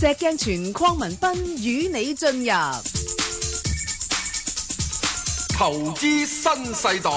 石鏡泉鄺民彬與你進入投資新世代。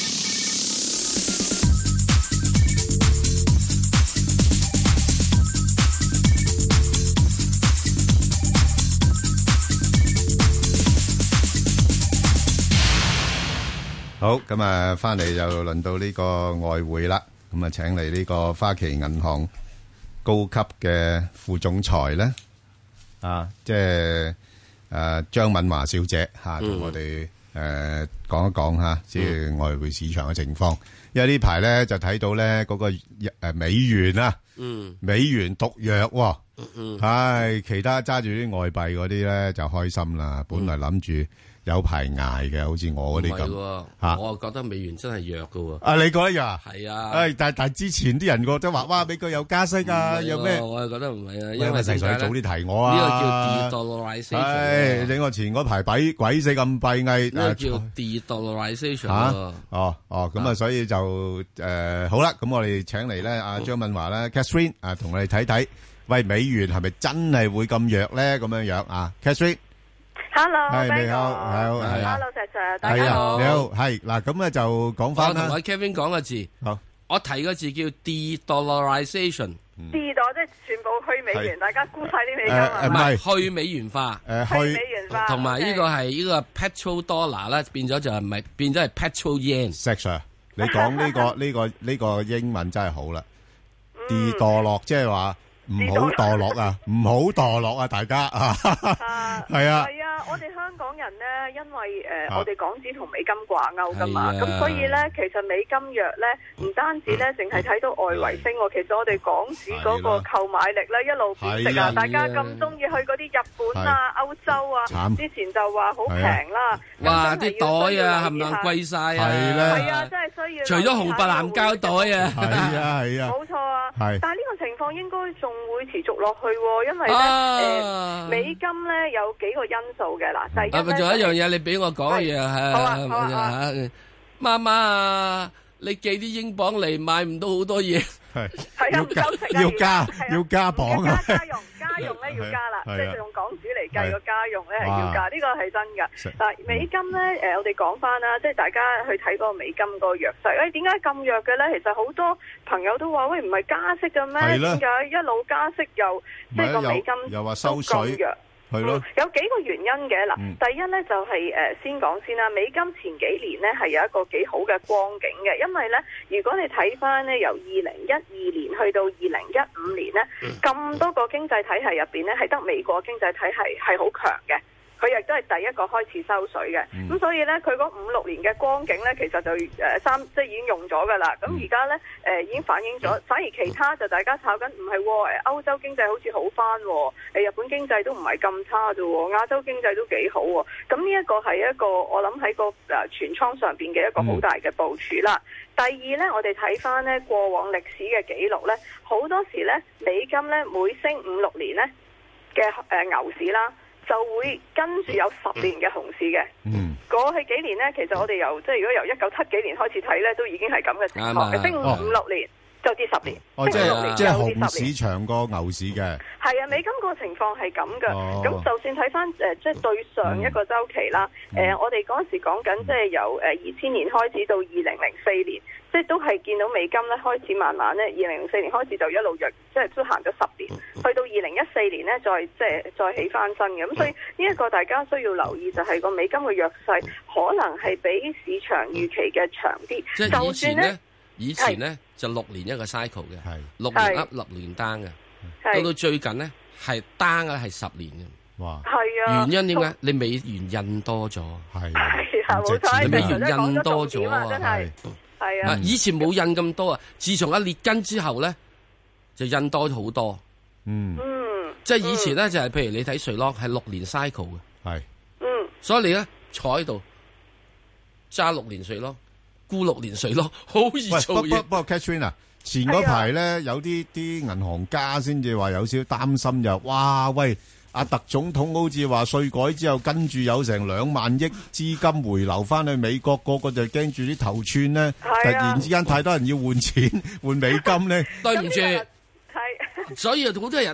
好，咁啊，翻嚟又輪到呢個外匯啦。咁啊，請嚟呢個花旗銀行高級嘅副總裁咧，即係張敏華小姐吓，同我哋講一講吓，即係外匯市場嘅情況。因為呢排咧就睇到咧嗰個美元啊，美元獨弱，係其他揸住啲外幣嗰啲咧就開心啦。本來諗住有排捱嘅，好似我嗰啲咁嚇， 我覺得美元真係弱嘅喎。 啊，你覺得弱？係啊， 但之前啲人覺得話，哇，美國有加息啊，有咩？ 我係覺得唔係啊，因為成日早啲提我啊。 呢個叫 de-dollarization。 你我前嗰排鬼死咁閉翳。 呢個叫 de-dollarization。 咁啊，所以就好啦。咁我哋請嚟咧，阿張敏華咧 ，Catherine 啊，同我哋睇睇，喂，美元係咪真係會咁弱咧？咁樣樣啊 ，Catherine。Hello， 你好，Hello，石 Sir，大家好， 你好，係嗱，咁咧就講翻啦。 我同阿 Kevin 講個字，好，我提個字叫 de-dollarization， 即係全部去美元，大家沽晒啲美金啊， 唔係去美元化， 去美元化， 同埋呢個係呢個 petrol dollar 咧，變咗就係唔係變咗係 petrol yen。 石 Sir， 你講呢個英文真係好啦，de-dollar即係話。唔好墮落啊！唔好墮落啊！大家啊，係啊， 係啊！我哋香港人咧，因為我哋港紙同美金掛鈎噶嘛，咁所以咧，其實美金弱咧，唔單止咧，淨係睇到外圍升，其實我哋港紙嗰個購買力咧一路貶值啊！大家咁中意去嗰啲日本啊、歐洲啊，之前就話好平啦， 哇！啲袋啊，冚唪唥貴晒啊， 係啊，真係需要。 除咗紅白藍膠袋啊， 係啊， 冇錯啊，但係呢個情況應該仲會持續落去，因為咧美金咧有幾個因素嘅嗱，第一咧， 仲有一樣嘢你俾我講嘅嘢係，媽媽啊，你寄啲英鎊嚟買唔到好多嘢， 係啊，唔夠食啊， 要加磅啊， 家用咧要加啦，即係用港紙嚟計個家用咧係要加，呢個係真㗎。但係美金咧，我哋講翻啦，即係大家去睇嗰個美金個弱勢。點解咁弱嘅咧？其實好多朋友都話：喂，唔係加息嘅咩？點解一路加息又即係個美金又話收水？係咯， 有幾個原因嘅嗱。第一咧就係先講先啦，美金前幾年咧係有一個幾好嘅光景嘅，因為咧如果你睇翻咧由2012年去到2015年咧，咁多個經濟體系入邊咧係得美國經濟體系係好強嘅。佢亦都係第一個開始收水嘅，咁所以咧佢嗰5-6年嘅光景咧，其實就即係已經用咗噶啦。咁而家咧已經反映咗，反而其他就大家炒緊唔係歐洲經濟好似好翻，日本經濟都唔係咁差啫，亞洲經濟都幾好喎。咁呢一個係一個我諗喺個全倉上邊嘅一個好大嘅部署啦。第二咧，我哋睇翻咧過往歷史嘅記錄咧，好多時咧美金咧每升5-6年咧嘅牛市啦，就會跟住有10年嘅熊市嘅。過去幾年呢，其實我哋由如果由1970幾年開始睇呢，都已經係咁嘅情況嘅，升5-6年就跌10年，升5-6年即係熊市長過牛市嘅。 係啊，美金個情況係咁嘅。咁就算睇翻即係對上一個週期啦，我哋嗰陣時講緊即係由2000年開始到2004年。即係都係見到美金咧開始慢慢咧，2004年開始就一路弱，即係都行咗10年，去到2014年咧再起翻身嘅。咁所以呢一個大家需要留意，就係個美金嘅弱勢可能係比市場預期嘅長啲。 即係以前咧就6年一個 cycle 嘅，係6年 up 6年 down 嘅，到最近咧係 down 嘅係10年嘅。 哇！ 係啊， 原因點解？你美元印多咗， 係啊，冇錯， 你美元印多咗啊， 真係。係啊！ 以前冇印咁多啊，自從列根之後咧，就印多咗好多。即係以前咧就係譬如你睇瑞郎係6年 cycle 嘅， 係， 所以你咧坐喺度揸6年瑞郎，沽6年瑞郎，好易做嘢。 不過 Catherine 啊，前嗰排咧有啲銀行家先至話有少少擔心，就哇喂！阿特總統好似話稅改之後，跟住有成2萬億資金回流翻去美國，個個就驚住啲頭寸咧，突然之間太多人要換錢換美金咧。 對唔住，所以好多人咧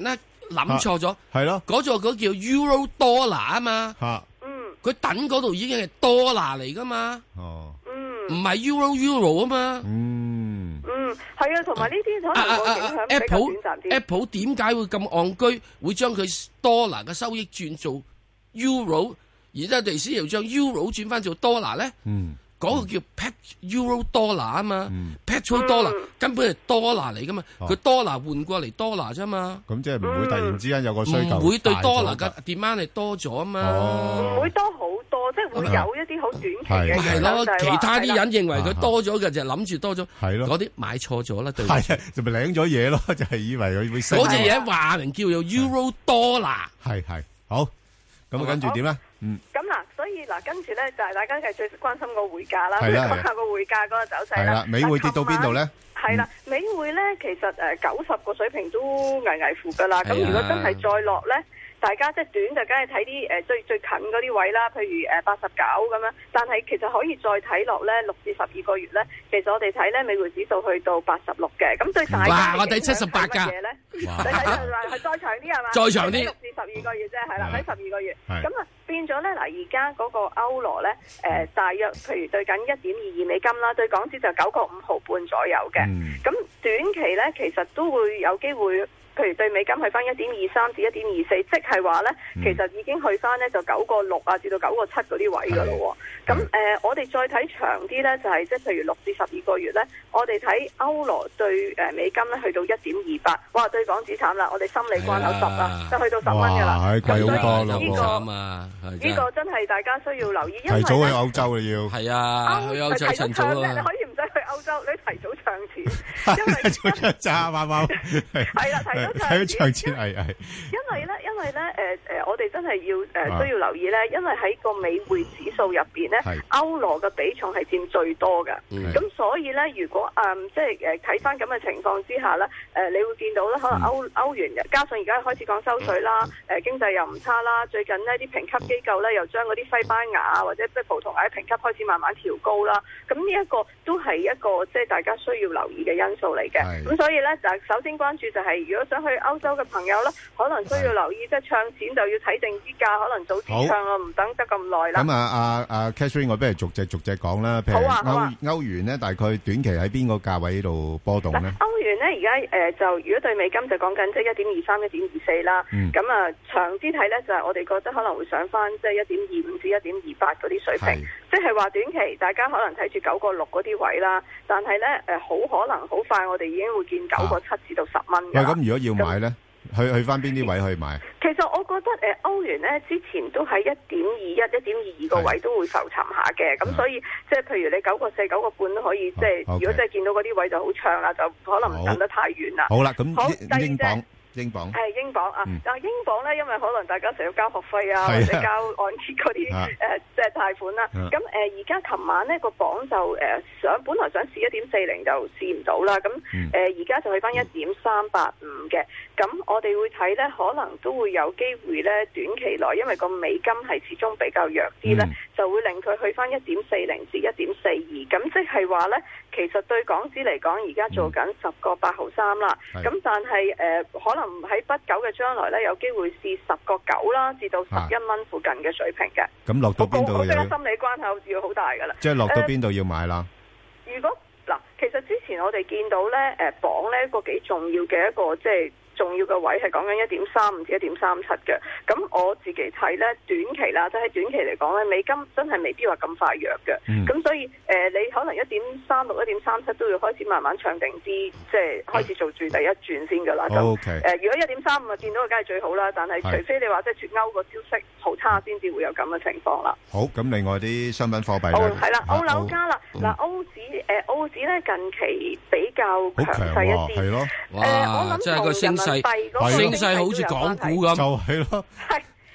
諗錯咗， 係咯， 嗰座嗰叫 Euro Dollar 啊嘛，佢等嗰度已經係 Dollar 嚟噶嘛，唔係 Euro 啊嘛， 係啊，同埋呢啲可能個影響比較短暫啲。 Apple 點解會咁戇居，會將佢 Dollar 嘅收益轉做 Euro， 而家地師又將 Euro 轉翻做 Dollar 咧？嗰個叫 Euro Dollar 啊嘛，Petrol Dollar 根本係 Dollar 嚟噶嘛，佢 Dollar 換過嚟 Dollar 啫嘛。 咁即係唔會突然之間有個需求， 唔會對 Dollar 嘅 demand 係多咗啊嘛。 唔會多好多，即係會有一啲好短期嘅影響。 係咯，其他啲人認為佢多咗嘅就諗住多咗，係咯，嗰啲買錯咗啦，對。係就咪領咗嘢咯，就係以為佢會升。 嗰隻嘢話明叫做 Euro Dollar。 係好，咁跟住點咧？ 咁嗱，所以嗱，跟住咧就係大家係最關心個匯價啦，講下個匯價嗰個走勢啦。 美匯跌到邊度咧？ 係啦，美匯咧其實90個水平都危危乎噶啦。咁如果真係再落咧，大家即係短就梗係睇啲最近嗰啲位啦，譬如89咁樣。但係其實可以再睇落咧，6至12個月咧，其實我哋睇咧美匯指數去到86嘅。咁對大家我睇78㗎。 你睇係再長啲係嘛？ 再長啲。6 至12個月啫，係啦，睇12個月。咁啊變咗咧嗱，而家嗰個歐羅咧大約譬如對緊1.22美金啦，對港紙就9個5毫半左右嘅。咁短期咧其實都會有機會。譬如對美金去翻1.23至1.24，即係話咧，其實已經去翻咧就9個6啊至到9個7嗰啲位噶咯喎。咁我哋再睇長啲咧，就係即係譬如6至12個月咧，我哋睇歐羅對美金咧去到1.28，哇！對港紙慘啦，我哋心理關口10啦，就去到10蚊噶啦。 哇！貴好多咯， 呢個真係大家需要留意，因為提早去歐洲啦要。係啊，去歐洲趁早啊！ 你可以唔使去歐洲，你提早唱錢，因為早唱揸貓貓係啦， 睇到長錢係因為咧我哋真係要需要留意咧，因為喺個美匯指數入邊咧，歐羅嘅比重係佔最多嘅。咁所以咧，如果即係睇翻咁嘅情況之下咧，你會見到咧，可能歐元加上而家開始講收水啦，經濟又唔差啦，最近呢啲評級機構咧又將嗰啲西班牙或者即係葡萄牙嘅評級開始慢慢調高啦。咁呢一個都係一個即係大家需要留意嘅因素嚟嘅。咁所以咧就首先關注就係如果想去歐洲嘅朋友咧，可能需要留意，即係唱錢就要睇定啲價，可能早啲唱啊，唔等得咁耐啦。 咁阿 Catherine， 我不如逐隻講啦。譬如歐元咧，大概短期喺邊個價位度波動咧？ 歐元咧而家就如果對美金就講緊即係1.23、1.24啦。咁長啲睇咧就係我哋覺得可能會上翻即係1.25至1.28嗰啲水平，即係話短期大家可能睇住9個6嗰啲位啦，但係咧好可能好快我哋已經會見9個7至到10蚊㗎。 咁如果要買咧？去翻邊啲位去買？ 其實我覺得歐元咧之前都喺1.21、1.22個位都會浮沉下嘅，咁所以即係譬如你9個4、9個半都可以，即係如果真係見到嗰啲位就好長啦，就可能唔等得太遠啦。 好啦，咁英鎊。英鎊係英鎊啊！但係英鎊咧，因為可能大家成日要交學費啊，或者交按揭嗰啲即係貸款啦。咁而家琴晚呢個鎊就本來想試1.40就試唔到啦。咁而家就去翻1.385嘅。咁我哋會睇咧，可能都會有機會咧，短期內因為個美金係始終比較弱啲咧，就會令佢去翻1.40至1.42。咁即係話咧，其實對港紙嚟講，而家做緊10個8毫3啦。咁但係可能喺不久嘅將來咧，有機會試10個9啦，至到11蚊附近嘅水平嘅。 咁落到邊度？ 我覺得心理關口要好大噶啦。 即係落到邊度要買啦？ 如果嗱，其實之前我哋見到咧，鎊咧個幾重要嘅一個即係重要嘅位係講緊1.35至1.37嘅。咁我自己睇咧，短期啦，即係喺短期嚟講咧，美金真係未必話咁快弱嘅。咁所以你可能1.36、1.37都要開始慢慢唱定啲，即係開始做住第一轉先噶啦。咁如果1.35見到嘅梗係最好啦，但係除非你話即係脫歐個消息好差，先至會有咁嘅情況啦。 好，咁另外啲商品貨幣咧， 係啦，歐樓加啦，嗱澳紙咧近期比較強勢一啲， 係咯， 我諗同人民幣嗰個升勢好似港股咁， 就係咯。 係嗱，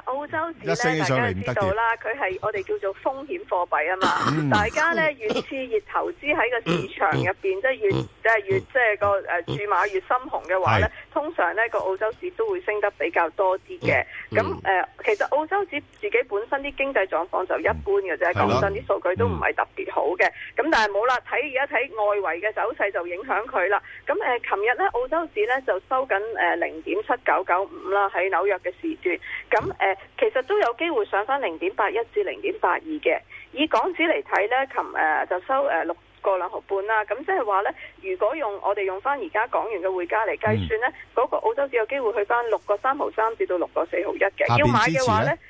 澳洲紙一升咧，大家就起上嚟唔得知道啦，佢係我哋叫做風險貨幣啊嘛。大家咧越次越投資喺個市場入邊，即係越即係個注碼越深紅嘅話咧，通常咧個澳洲紙都會升得比較多啲嘅。咁其實澳洲紙自己本身啲經濟狀況就一般嘅啫，講真啲數據都唔係特別好嘅。咁但係冇啦，而家睇外圍嘅走勢就影響佢啦。咁琴日咧澳洲紙咧就收緊0.7995啦，喺紐約嘅時段。咁其實都有機會上翻0.81至0.82嘅。以港紙嚟睇咧，就收6個2毫半啦。咁即係話咧，如果我哋用翻而家港元嘅匯價嚟計算咧，嗰個澳洲紙有機會去翻6個3毫3至到6個4毫1嘅。要買嘅話咧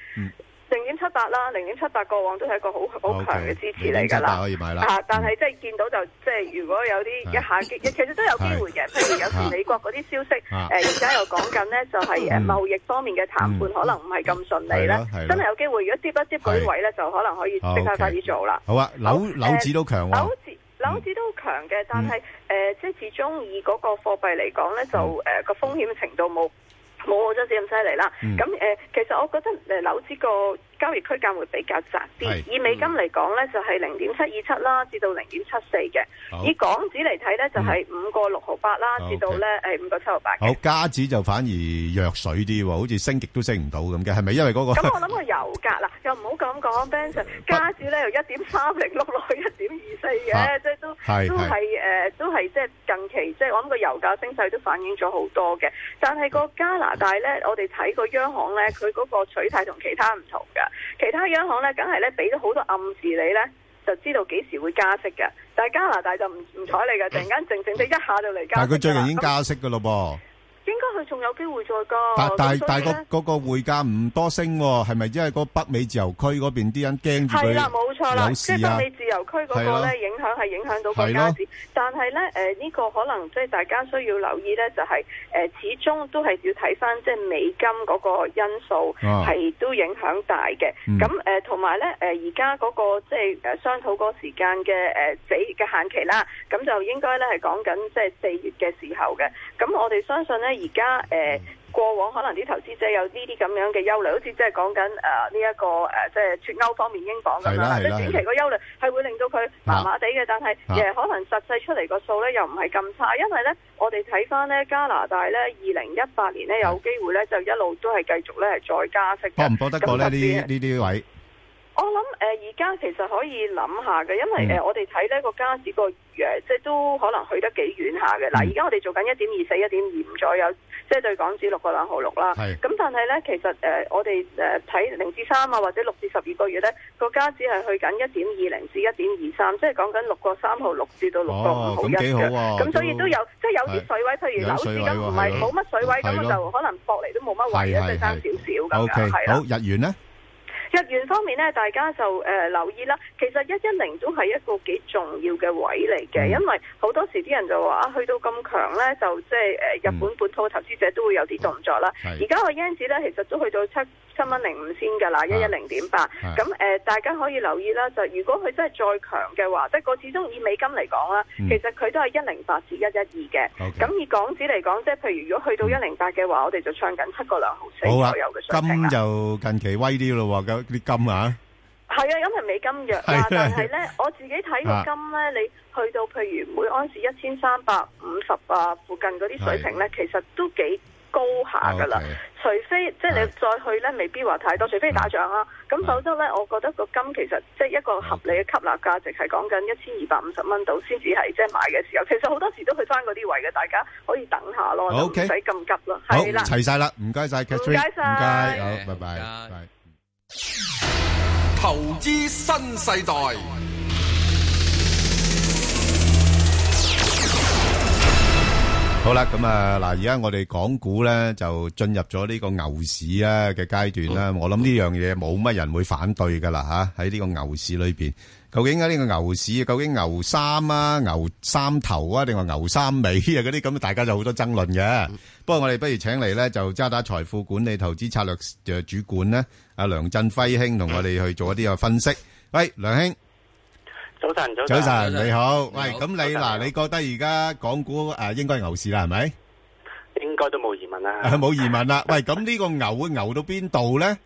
，0.78啦，0.78過往都係一個好強嘅支持嚟㗎啦。 可以買啦。 但係即係見到就即係如果有啲一下其實都有機會嘅。譬如有時美國嗰啲消息，而家又講緊呢，就係貿易方面嘅談判可能唔係咁順利咧，真係有機會。如果跌一跌嗰啲位咧，就可能可以即刻快啲做啦。 好啊，紐紙都強喎。 紐紙都強嘅，但係即係始終以嗰個貨幣嚟講咧，就個風險程度冇澳洲紙咁犀利啦。咁其實我覺得紐紙個交易區間會比較窄啲。以美金嚟講咧，就係0.727啦，至到0.74嘅。以港紙嚟睇咧，就係5個6毫8啦，至到咧5個7毫8。 好，加紙就反而弱水啲喎，好似升極都升唔到咁嘅，係咪因為嗰個？ 咁我諗個油價啦，又唔好咁講 Ben Sir， 加紙咧由1.30碌落去1.24嘅，即係都係即係近期即係我諗個油價升勢都反映咗好多嘅。但係個加拿大咧，我哋睇個央行咧，佢嗰個取態同其他唔同㗎。其他央行咧，梗係咧俾咗好多暗示你咧，就知道幾時會加息嘅。但係加拿大就唔睬你嘅，突然間靜靜地一下就嚟加息。 但係佢最近已經加息㗎咯噃。 應該佢仲有機會再加。 但係嗰個匯價唔多升喎，係咪因為個北美自由區嗰邊啲人驚住佢？ 係啦，冇錯啦，即係北美自由區嗰個咧影響到個加紙。但係咧呢個可能即係大家需要留意咧，就係始終都係要睇翻即係美金嗰個因素係都影響大嘅。咁同埋咧而家嗰個即係商討嗰個時間嘅嘅限期啦，咁就應該咧係講緊即係4月嘅時候嘅。咁我哋相信咧。而家過往可能啲投資者有呢啲咁樣嘅憂慮，好似即係講緊呢一個即係脫歐方面英鎊咁樣，即係短期個憂慮係會令到佢麻麻地嘅，但係可能實際出嚟個數咧又唔係咁差，因為咧我哋睇翻咧加拿大咧2018年咧有機會咧就一路都係繼續咧係再加息嘅。搏唔搏得過咧呢啲位？我諗而家其實可以諗下嘅，因為我哋睇呢個加紙個即係都可能去得幾遠下嘅。嗱，而家我哋做緊1.24、1.25左右，即係對港紙6個2毫6啦。咁但係咧，其實我哋睇0至3啊，或者6至12個月咧，個加紙係去緊1.20至1.23，即係講緊6個3毫6至到6個5毫1嘅。咁所以都有即係有啲水位，譬如樓市咁唔係冇乜水位，咁就可能搏嚟都冇乜位啊，即係爭少少咁樣。係啦。好，日元咧？日元方面咧，大家就留意啦。其實110都係一個幾重要嘅位嚟嘅，因為好多時啲人就話去到咁強咧，就即係日本本土投資者都會有啲動作啦。而家個 yen 紙咧，其實都去到7蚊05先㗎啦，110.8。咁大家可以留意啦，就如果佢真係再強嘅話，即係個始終以美金嚟講啦，其實佢都係108至112嘅。咁以港紙嚟講，即係譬如如果去到108嘅話，我哋就唱緊7個2毫4左右嘅水平啦。金就近期威啲咯喎，啲金啊，係啊，因為美金弱啦，但係咧，我自己睇個金咧，你去到譬如每安士1350啊附近嗰啲水平咧，其實都幾高下噶啦。除非即係你再去咧，未必話太多，除非打仗啦。咁否則咧，我覺得個金其實即係一個合理嘅吸納價值係講緊1250蚊度先至係即係買嘅時候。其實好多時都去翻嗰啲位嘅，大家可以等下咯，唔使咁急咯。係啦，齊晒啦，唔該晒 Catherine，唔該晒，唔該，好，拜拜。 投資新世代。 好啦，咁啊嗱，而家我哋港股咧就進入咗呢個牛市啊嘅階段啦。我諗呢樣嘢冇乜人會反對噶啦吓，喺呢個牛市裏邊，究竟喺呢個牛市，究竟牛三啊、牛三頭啊，定話牛三尾啊嗰啲咁，大家就好多爭論嘅。不過我哋不如請嚟咧就渣打財富管理投資策略主管咧，阿梁振輝兄同我哋去做一啲嘅分析。喂，梁兄。 早晨， 你好。喂，咁你覺得而家港股應該係牛市啦，係咪？ 應該都冇疑問啦。 冇疑問啦。喂，咁呢個牛會牛到邊度咧？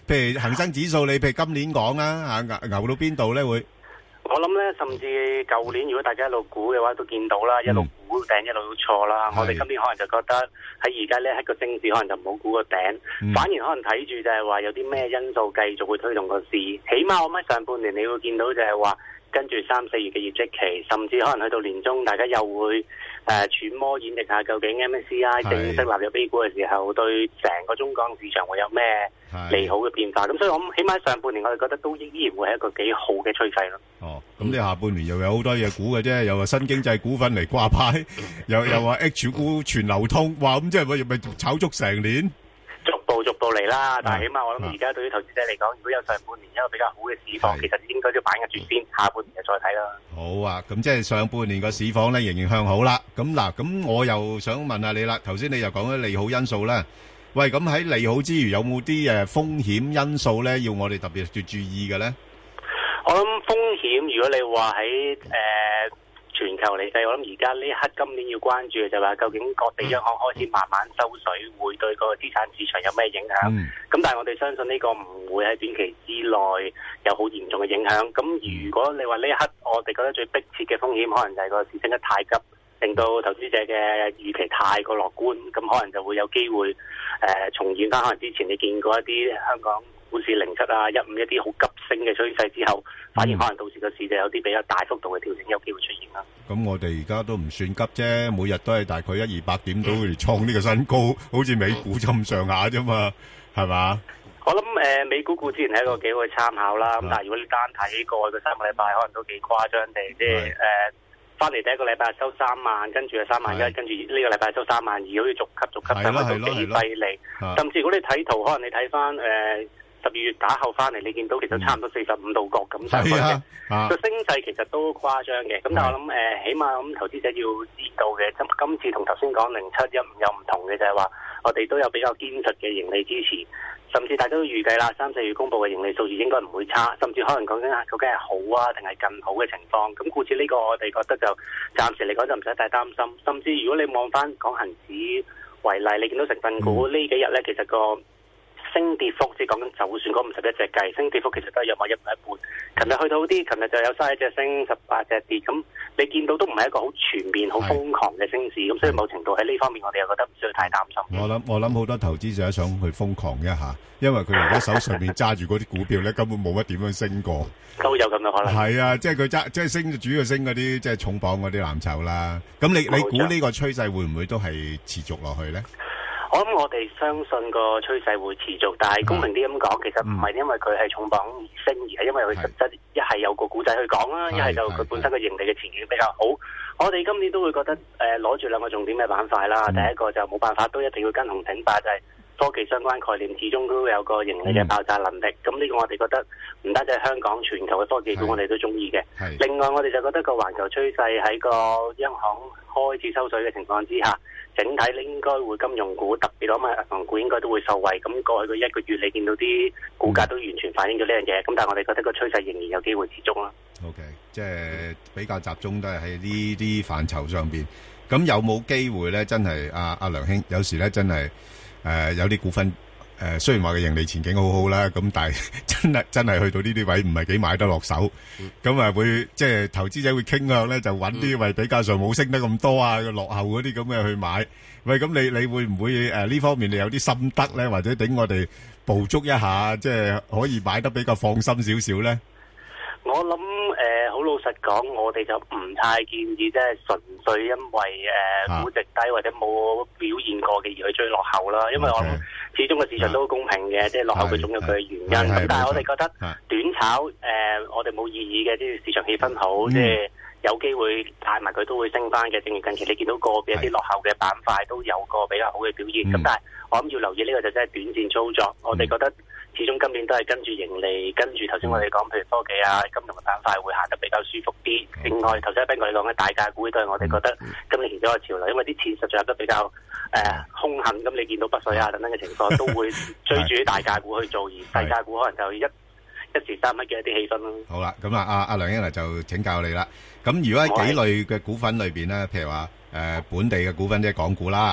譬如恒生指數，你譬如今年講啦，牛到邊度咧會？ 我諗咧，甚至舊年如果大家一路估嘅話，都見到啦，一路估頂，一路都錯啦。我哋今年可能就覺得喺而家呢一個升市，可能就唔好估個頂，反而可能睇住就係話有啲咩因素繼續會推動個市。起碼我諗上半年你會見到就係話，跟住3、4月嘅業績期，甚至可能去到年中，大家又會揣摩演繹下究竟 MSCI 正式納入 A 股嘅時候，對成個中港市場會有咩利好嘅變化。咁所以我諗起碼上半年我哋覺得都依然會係一個幾好嘅趨勢咯。 哦，咁你下半年又有好多嘢估嘅啫，又話新經濟股份嚟掛牌，又話 H 股全流通，哇！咁即係咪炒足成年？ 逐步嚟啦，但係起碼我諗而家對於投資者嚟講，如果有上半年一個比較好嘅市況，其實應該都把握住先，下半年就再睇啦。 好啊，咁即係上半年個市況咧仍然向好啦。咁嗱，咁我又想問下你啦，頭先你又講咗利好因素啦。喂，咁喺利好之餘，有冇啲風險因素咧，要我哋特別要注意嘅咧？ 我諗風險，如果你話喺全球嚟計，我諗而家呢一刻今年要關注嘅就係話，究竟各地央行開始慢慢收水，會對個資產市場有咩影響？咁但係我哋相信呢個唔會喺短期之內有好嚴重嘅影響。咁如果你話呢一刻我哋覺得最迫切嘅風險，可能就係個市升得太急，令到投資者嘅預期太過樂觀，咁可能就會有機會重現翻可能之前你見過一啲香港股市07啊、15一啲好急升嘅趨勢之後，反而可能到時個市就有啲比較大幅度嘅調整，有機會出現啦。 咁我哋而家都唔算急啫，每日都係大概100-200點到嚟創呢個新高，好似美股咁上下啫嘛，係嘛？ 我諗美股固然係一個幾好嘅參考啦，咁但係如果你單睇過去嘅3個禮拜，可能都幾誇張地，即係翻嚟第一個禮拜收3萬，跟住係3萬1，跟住呢個禮拜收3萬2，好似逐級上去到幾犀利。甚至如果你睇圖，可能你睇翻12月打後翻嚟，你見到其實差唔多45度角咁上去嘅，個升勢其實都誇張嘅。咁但係我諗起碼咁投資者要知道嘅，今次同頭先講0715有唔同嘅就係話，我哋都有比較堅實嘅盈利支持，甚至大家都預計啦，3、4月公佈嘅盈利數字應該唔會差，甚至可能講緊究竟係好啊定係更好嘅情況。咁故此呢個我哋覺得就暫時嚟講就唔使太擔心。甚至如果你望翻講恒指為例，你見到成分股呢幾日咧，其實個升跌幅，即係講緊就算嗰51隻計，升跌幅其實都係約莫1半。琴日去到啲，琴日就有31隻升，18隻跌。咁你見到都唔係一個好全面、好瘋狂嘅升市。咁所以某程度喺呢方面，我哋又覺得唔需要太擔心。 我諗好多投資者想去瘋狂一下，因為佢而家手上面揸住嗰啲股票咧，根本冇乜點樣升過。 都有咁嘅可能。係啊，即係佢即係升，主要升嗰啲即係重磅嗰啲藍籌啦。咁你估呢個趨勢會唔會都係持續落去咧？ 我諗我哋相信個趨勢會持續，但係公平啲咁講，其實唔係因為佢係重磅而升，而係因為佢實質一係有個故仔去講啦，一係就佢本身嘅盈利嘅前景比較好。我哋今年都會覺得攞住兩個重點嘅板塊啦，第一個就冇辦法都一定要跟紅頂白，就係科技相關概念，始終都有個盈利嘅爆炸能力。咁呢個我哋覺得唔單止係香港，全球嘅科技股我哋都中意嘅。另外我哋就覺得個環球趨勢喺個央行開始收水嘅情況之下，整體咧應該會金融股，特別攞埋銀行股應該都會受惠。咁過去個一個月你見到啲股價都完全反映咗呢樣嘢。咁但係我哋覺得個趨勢仍然有機會持續啦。 OK， 即係比較集中都係喺呢啲範疇上邊。咁有冇機會咧？真係阿梁兄，有時咧真係有啲股份雖然話嘅盈利前景好好啦，咁但係真係去到呢啲位唔係幾買得落手。咁啊會即係投資者會傾向咧，就揾啲位比較上冇升得咁多啊，落後嗰啲咁嘅去買。喂，咁你會唔會呢方面你有啲心得咧，或者頂我哋捕捉一下，即係可以買得比較放心少少咧？ 我諗好老實講，我哋就唔太建議即係純粹因為估值低或者冇表現過嘅而去追落後啦。因為我諗始終個市場都好公平嘅，即係落後佢總有佢嘅原因。咁但係我哋覺得短炒我哋冇意義嘅，即係市場氣氛好，即係有機會帶埋佢都會升翻嘅。正如近期你見到個別一啲落後嘅板塊都有個比較好嘅表現。咁但係我諗要留意呢個就真係短線操作。我哋覺得始終今年都係跟住盈利，跟住頭先我哋講，譬如科技啊、金融嘅板塊會行得比較舒服啲。另外，頭先阿彬哥你講嘅大價股都係我哋覺得今年其中一個潮流，因為啲錢實在入得比較兇狠。咁你見到北水啊等等嘅情況，都會追住啲大價股去做，而大價股可能就一時三刻嘅一啲氣氛咯。好啦， 咁阿梁英就請教你啦。咁如果喺幾類嘅股份裏邊咧，譬如話本地嘅股份即係港股啦，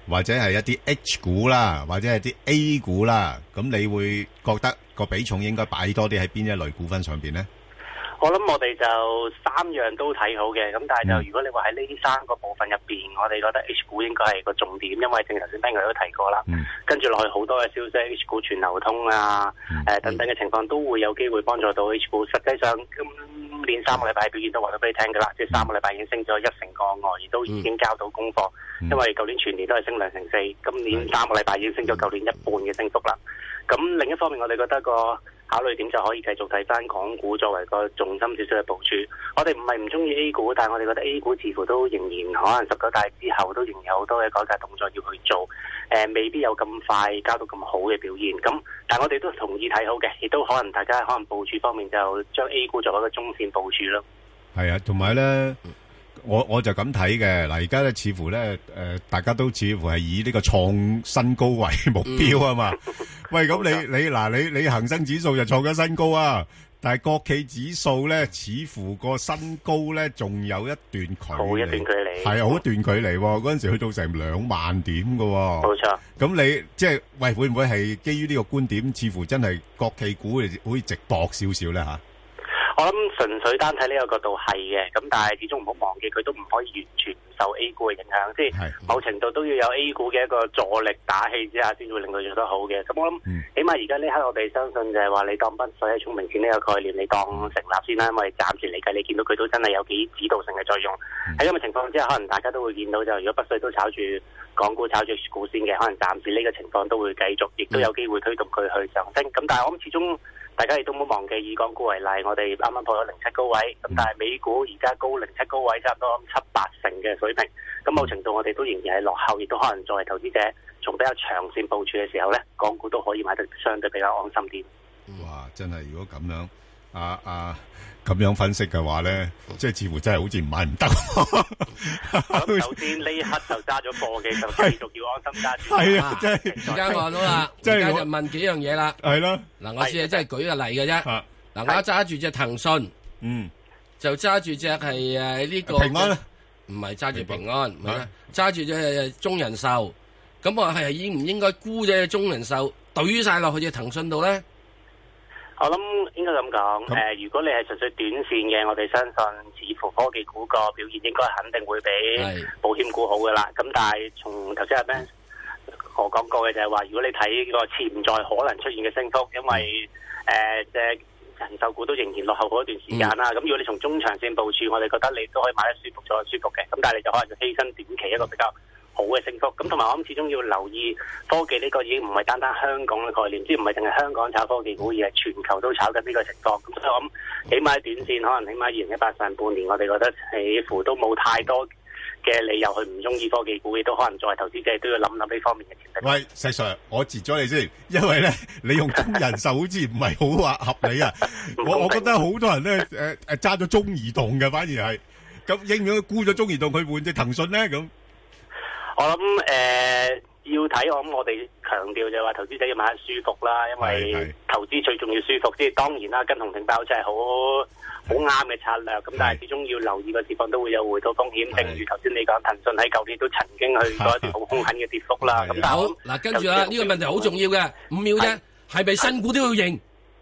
或者係一啲 H 股啦，或者係啲 A 股啦，咁你會覺得個比重應該擺多啲喺邊一類股份上邊咧？ 我諗我哋就三樣都睇好嘅，咁但係就如果你話喺呢三個部分入邊，我哋覺得 H 股應該係個重點，因為正如頭先 Ben 佢都提過啦，跟住落去好多嘅消息 H 股全流通啊，等等嘅情況都會有機會幫助到 H 股。實際上今年3個禮拜表現都話咗俾你聽㗎啦，即係3個禮拜已經升咗1成個外，亦都已經交到功課，因為舊年全年都係升2成4，今年3個禮拜已經升咗舊年一半嘅升幅啦。咁另一方面，我哋覺得個考慮點就可以繼續睇翻港股作為個重心少少嘅部署。我哋唔係唔中意 A 股，但係我哋覺得 A 股似乎都仍然可能19大之後都仍然有好多嘅改革動作要去做，未必有咁快交到咁好嘅表現。咁但係我哋都同意睇好嘅，亦都可能大家可能部署方面就將 A 股作為一個中線部署咯。係啊，同埋咧。我就咁睇嘅，嗱而家咧似乎咧大家都似乎係以呢個創新高為目標啊嘛。喂，咁你恒生指數就創咗新高啊，但係國企指數咧似乎個新高咧仲有一段距離，好一段距離，係好一段距離。嗰陣時去到成2萬點㗎。冇錯。咁你即係喂會唔會係基於呢個觀點，似乎真係國企股好似直搏少少咧嚇？ 我諗純粹單睇呢個角度係嘅，咁但係始終唔好忘記佢都唔可以完全唔受 A 股嘅影響，即係某程度都要有 A 股嘅一個助力打氣之下，先會令佢做得好嘅。咁我諗，起碼而家呢刻我哋相信就係話，你當北水喺聰明錢呢個概念，你當成立先啦，因為暫時嚟計，你見到佢都真係有幾指導性嘅作用。喺咁嘅情況之下，可能大家都會見到就，如果北水都炒住港股、炒住股先嘅，可能暫時呢個情況都會繼續，亦都有機會推動佢去上升。咁但係我諗始終。大家亦都冇忘記，以港股為例，我哋啱啱破咗07高位，咁但係美股而家高07高位，差唔多7-8成嘅水平。咁某程度我哋都仍然係落後，亦都可能作為投資者，從比較長線部署嘅時候咧，港股都可以買得相對比較安心啲。 哇！真係如果咁樣咁樣分析嘅話咧，即係似乎真係好似唔買唔得。 咁首先呢一刻就揸咗貨嘅，就繼續要安心揸住。 係啊，即係而家我到啦，而家就問幾樣嘢啦。 係咯， 嗱，我只係真係舉個例嘅啫。嗱，我揸住隻騰訊，就揸住隻係呢個平安啦， 唔係揸住平安，唔係揸住隻中人壽。咁我係應唔應該沽隻中人壽，懟晒落去隻騰訊度咧？ 我諗應該咁講，如果你係純粹短線嘅，我哋相信似乎科技股個表現應該肯定會比保險股好噶啦。咁但係從頭先阿 Ben 我講過嘅就係話，如果你睇個潛在可能出現嘅升幅，因為即係人壽股都仍然落後好一段時間啦。咁如果你從中長線部署，我哋覺得你都可以買得舒服咗舒服嘅。咁但係你就可能要犧牲短期一個比較好嘅升幅，咁同埋我諗始終要留意科技呢個已經唔係單單香港嘅概念，即係唔係淨係香港炒科技股，而係全球都炒緊呢個情況。咁所以我諗起碼短線可能起碼2018上半年，我哋覺得似乎都冇太多嘅理由去唔中意科技股，亦都可能作為投資者都要諗諗呢方面嘅潛力。 喂，石 Sir， 我截咗你先，因為咧你用中人壽好似唔係好話合理啊。我覺得好多人咧揸咗中移動嘅，反而係咁應唔應該沽咗中移動去換隻騰訊咧咁？ 我諗要睇，我諗我哋強調就係話投資者要買得舒服啦，因為投資最重要舒服。即係當然啦，跟紅頂包真係好啱嘅策略。咁但係始終要留意個市況都會有回吐風險。正如頭先你講，騰訊喺舊年都曾經去過一段好兇狠嘅跌幅啦。咁好嗱，跟住啦，呢個問題好重要嘅5秒啫，係咪新股都要認？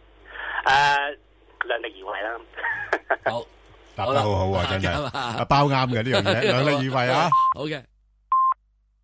量力而為啦。 好， 答得好好啊，真係包啱嘅呢樣嘢，量力而為啊。 好嘅。